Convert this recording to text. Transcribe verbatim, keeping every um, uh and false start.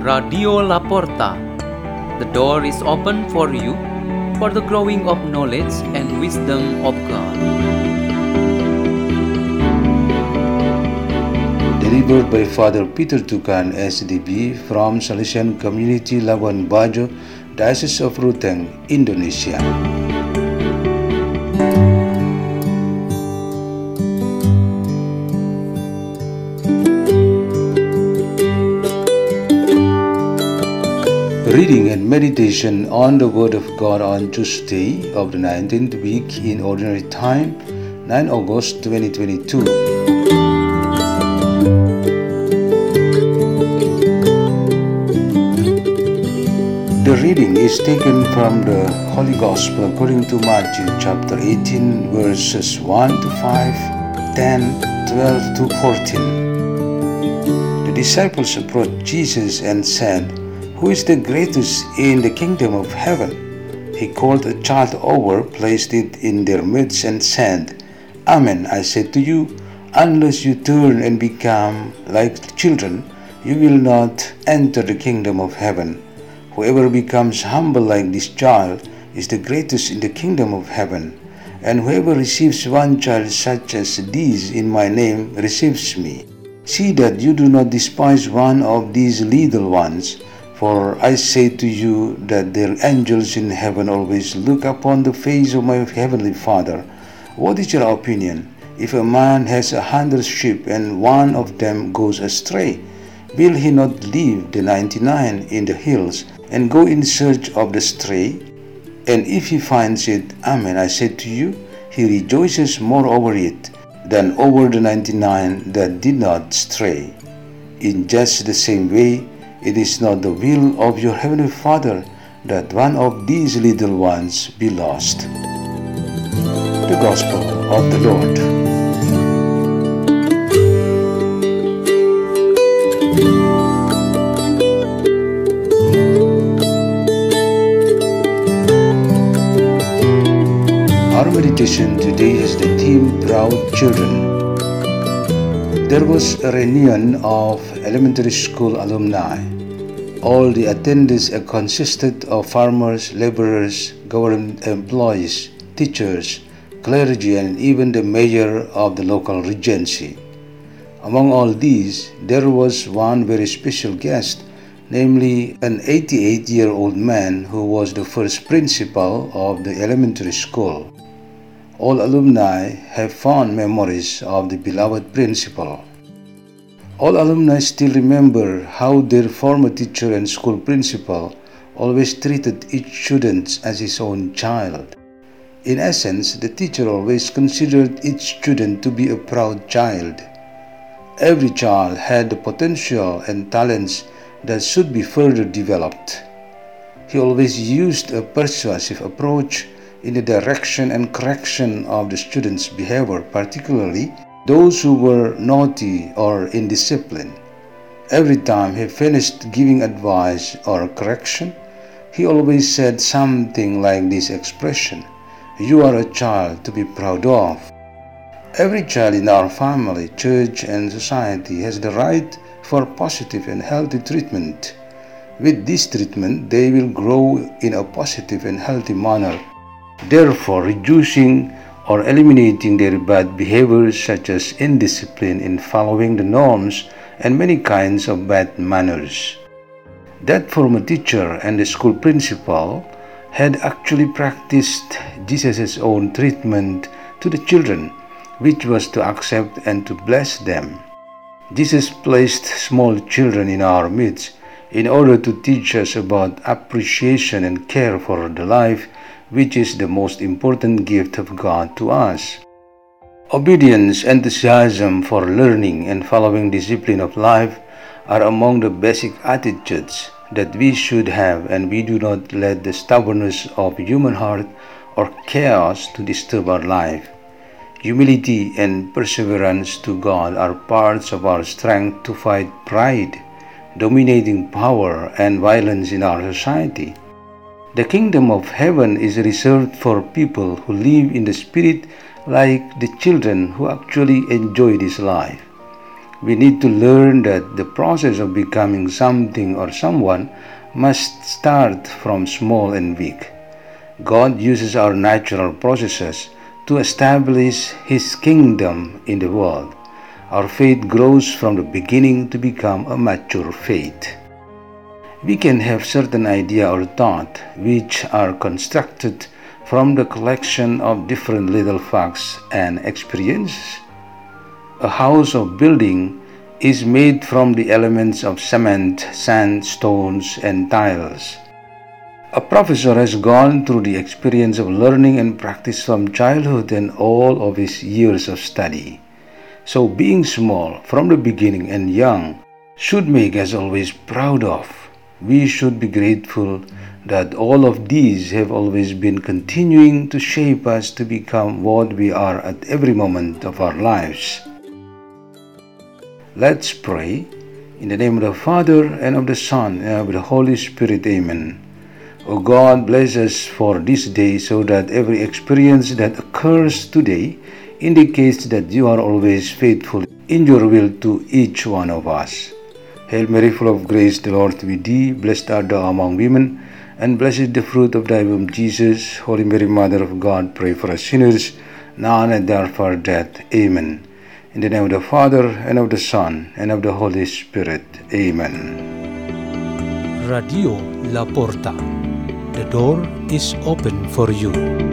Radio La Porta. The door is open for you for the growing of knowledge and wisdom of God. Delivered by Father Peter Tukan, S D B, from Salesian Community Labuan Bajo, Diocese of Ruteng, Indonesia. Reading and meditation on the Word of God on Tuesday of the nineteenth week in Ordinary Time, ninth of August twenty twenty-two. The reading is taken from the Holy Gospel according to Matthew chapter eighteen, verses one to five, ten, twelve to fourteen. The disciples approached Jesus and said, "Who is the greatest in the kingdom of heaven?" He called a child over, placed it in their midst, and said, "Amen, I say to you, unless you turn and become like children, you will not enter the kingdom of heaven. Whoever becomes humble like this child is the greatest in the kingdom of heaven. And whoever receives one child such as these in my name receives me. See that you do not despise one of these little ones. For I say to you that their angels in heaven always look upon the face of my heavenly Father. What is your opinion? If a man has a hundred sheep and one of them goes astray, will he not leave the ninety-nine in the hills and go in search of the stray? And if he finds it, amen, I say to you, he rejoices more over it than over the ninety-nine that did not stray. In just the same way, it is not the will of your heavenly Father that one of these little ones be lost." The Gospel of the Lord. Our meditation today has the theme Proud Children. There was a reunion of elementary school alumni. All the attendees consisted of farmers, laborers, government employees, teachers, clergy, and even the mayor of the local regency. Among all these, there was one very special guest, namely an eighty-eight-year-old man who was the first principal of the elementary school. All alumni have fond memories of the beloved principal. All alumni still remember how their former teacher and school principal always treated each student as his own child. In essence, the teacher always considered each student to be a proud child. Every child had the potential and talents that should be further developed. He always used a persuasive approach in the direction and correction of the students' behavior, particularly those who were naughty or indisciplined. Every time he finished giving advice or correction, he always said something like this expression, "You are a child to be proud of." Every child in our family, church, and society has the right for positive and healthy treatment. With this treatment, they will grow in a positive and healthy manner, therefore reducing or eliminating their bad behaviors such as indiscipline in following the norms and many kinds of bad manners. That former teacher and the school principal had actually practiced Jesus' own treatment to the children, which was to accept and to bless them. Jesus placed small children in our midst in order to teach us about appreciation and care for the life, which is the most important gift of God to us. Obedience, enthusiasm for learning, and following discipline of life are among the basic attitudes that we should have, and we do not let the stubbornness of human heart or chaos to disturb our life. Humility and perseverance to God are parts of our strength to fight pride, dominating power, and violence in our society. The kingdom of heaven is reserved for people who live in the spirit like the children who actually enjoy this life. We need to learn that the process of becoming something or someone must start from small and weak. God uses our natural processes to establish His kingdom in the world. Our faith grows from the beginning to become a mature faith. We can have certain idea or thought which are constructed from the collection of different little facts and experiences. A house or building is made from the elements of cement, sand, stones, and tiles. A professor has gone through the experience of learning and practice from childhood and all of his years of study. So being small from the beginning and young should make us always proud of. We should be grateful that all of these have always been continuing to shape us to become what we are at every moment of our lives. Let's pray. In the name of the Father, and of the Son, and of the Holy Spirit. Amen. O God, bless us for this day so that every experience that occurs today indicates that you are always faithful in your will to each one of us. Hail Mary, full of grace, the Lord is with thee. Blessed art thou among women, and blessed is the fruit of thy womb, Jesus. Holy Mary, Mother of God, pray for us sinners, now and at the hour of our death. Amen. In the name of the Father, and of the Son, and of the Holy Spirit. Amen. Radio La Porta. The door is open for you.